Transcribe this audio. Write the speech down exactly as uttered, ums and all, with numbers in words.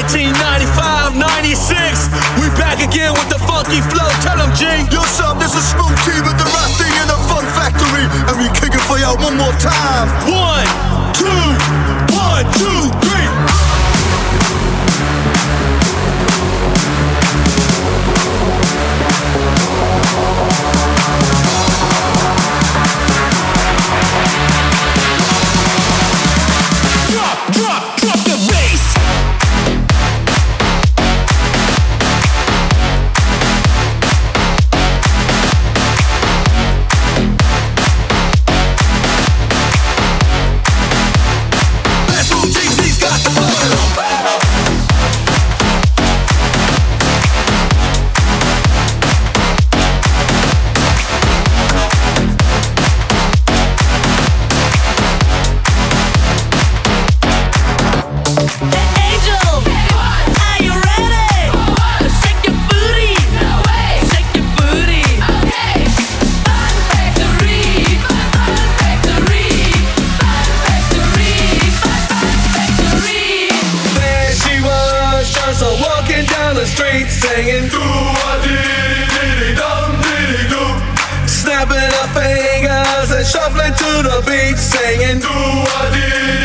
nineteen ninety-five, ninety-six, we back again with the funky flow. Tell them, G. Yo, son, this is Smooth T with the right thing in the Fun Factory, and we kick it for y'all one more time. One, two, one, two, three. Drop, drop, drop the bass. So walking down the street singing do-a-dee-dee-dee-dum-dee-dee-doo, snapping her fingers and shuffling to the beat singing do-a-dee-dee-dee-dum.